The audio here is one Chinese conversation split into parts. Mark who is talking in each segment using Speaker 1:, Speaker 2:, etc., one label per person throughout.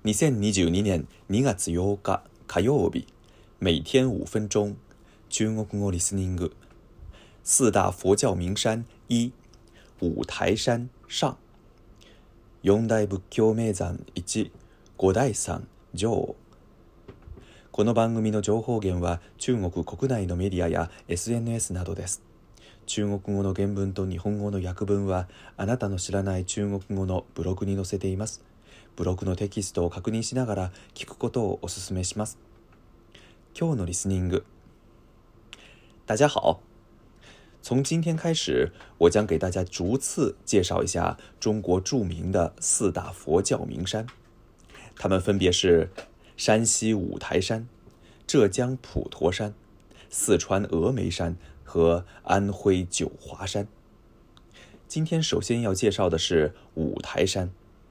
Speaker 1: 2022年2月8日火曜日，每天5分钟，中国語リスニング。四大佛教名山1、五台山上。四大仏教名山1、五台山上。この番組の情報源は中国国内のメディアや SNS などです。中国語の原文と日本語の訳文はあなたの知らない中国語のブログに載せています。ブログのテキストを確認しながら聞くことをお勧めします。今日のリスニング。大家好，从今天开始，我将给大家逐次介绍一下中国著名的四大佛教名山，它们分别是山西五台山、浙江普陀山、四川峨眉山和安徽九华山。今天首先要介绍的是五台山。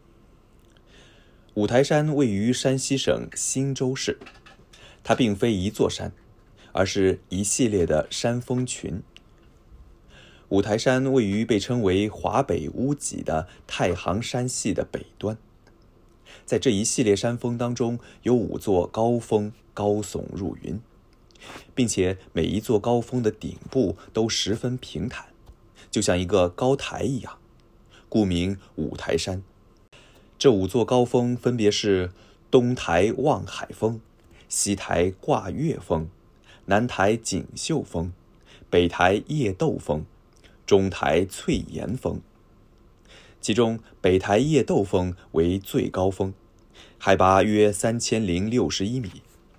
Speaker 1: 五台山位于山西省忻州市，它并非一座山，而是一系列的山峰群。五台山位于被称为华北屋脊的太行山系的北端，在这一系列山峰当中，有5座高峰高耸入云，并且每一座高峰的顶部都十分平坦，就像一个高台一样，故名五台山。这5座高峰分别是东台望海峰、西台挂月峰、南台锦绣峰、北台叶斗峰、中台翠岩峰。其中北台叶斗峰为最高峰，海拔约3061米。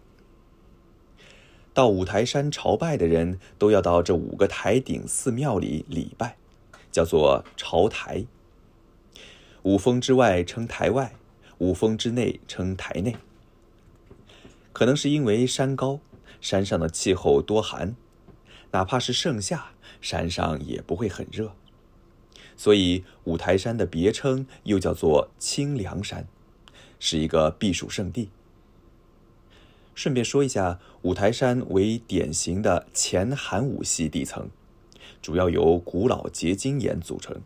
Speaker 1: 到五台山朝拜的人都要到这5个台顶寺庙里礼拜，叫做朝台。5峰之外称台外，5峰之内称台内。可能是因为山高，山上的气候多寒，哪怕是盛夏，山上也不会很热，所以五台山的别称又叫做清凉山，是一个避暑胜地。顺便说一下，五台山为典型的前寒武系地层，主要由古老结晶岩组成。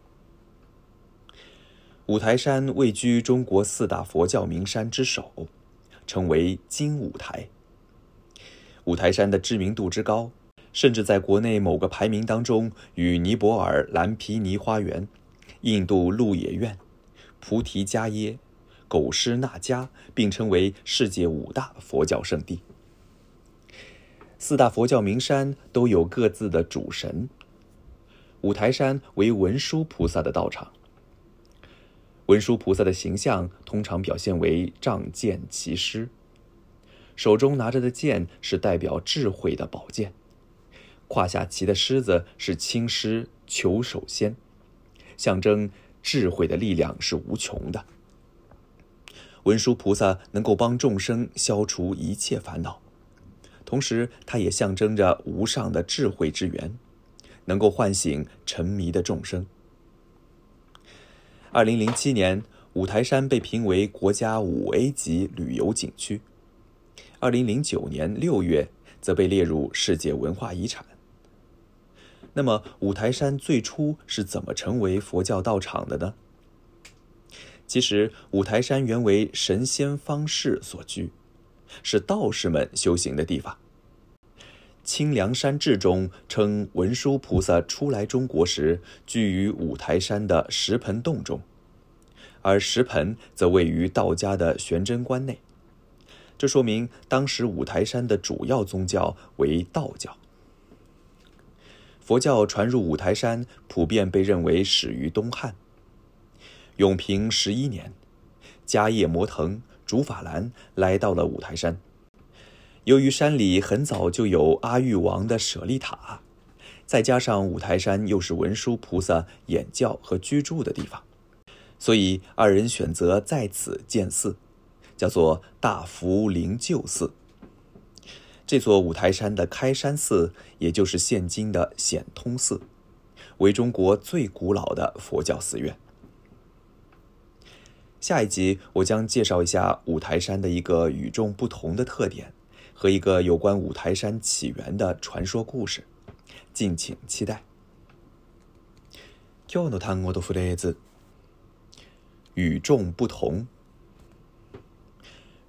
Speaker 1: 五台山位居中国4大佛教名山之首，称为金五台。五台山的知名度之高，甚至在国内某个排名当中与尼泊尔蓝毗尼花园、印度鹿野苑、菩提伽耶、狗尸那迦并称为世界5大佛教圣地。4大佛教名山都有各自的主神。五台山为文殊菩萨的道场。文殊菩萨的形象通常表现为仗剑骑狮，手中拿着的剑是代表智慧的宝剑，胯下骑的狮子是青狮求首仙，象征智慧的力量是无穷的。文殊菩萨能够帮众生消除一切烦恼，同时它也象征着无上的智慧之源，能够唤醒沉迷的众生。2007年，五台山被评为国家5A 级旅游景区。2009年6月，则被列入世界文化遗产。那么，五台山最初是怎么成为佛教道场的呢？其实，五台山原为神仙方士所居，是道士们修行的地方。清凉山志中称文殊菩萨初来中国时居于五台山的石盆洞中，而石盆则位于道家的玄真观内，这说明当时五台山的主要宗教为道教。佛教传入五台山普遍被认为始于东汉。永平11年，迦叶摩腾、竺法兰来到了五台山。由于山里很早就有阿育王的舍利塔，再加上五台山又是文殊菩萨演教和居住的地方，所以2人选择在此建寺，叫做大福灵鹫寺。这座五台山的开山寺，也就是现今的显通寺，为中国最古老的佛教寺院。下一集我将介绍一下五台山的一个与众不同的特点和一个有关五台山起源的传说故事，敬请期待。今日の単語とフレーズ。与众不同。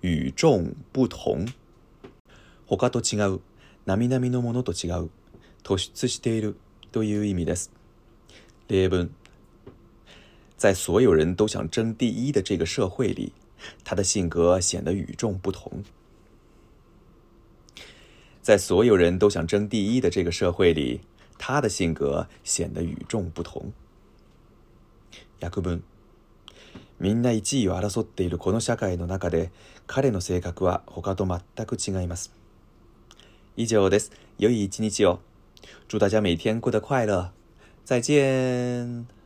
Speaker 1: 与众不同。他と違う、並々のものと違う、突出しているという意味です。例文：在所有人都想争第一的这个社会里，他的性格显得与众不同。在所有人都想争第一的这个社会里，他的性格显得与众不同。訳文：みんな1位を争っているこの社会の中で、彼の性格は他と全く違います。以上です。良い一日を。祝大家每天过得快乐。再见。